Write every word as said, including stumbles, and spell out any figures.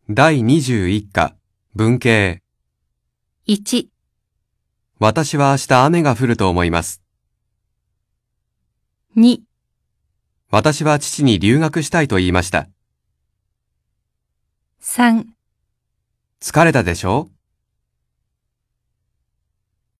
だいにじゅういっか文系。 いち、 私は明日雨が降ると思います。 に、 私は父に留学したいと言いました。 さん、 疲れたでしょう？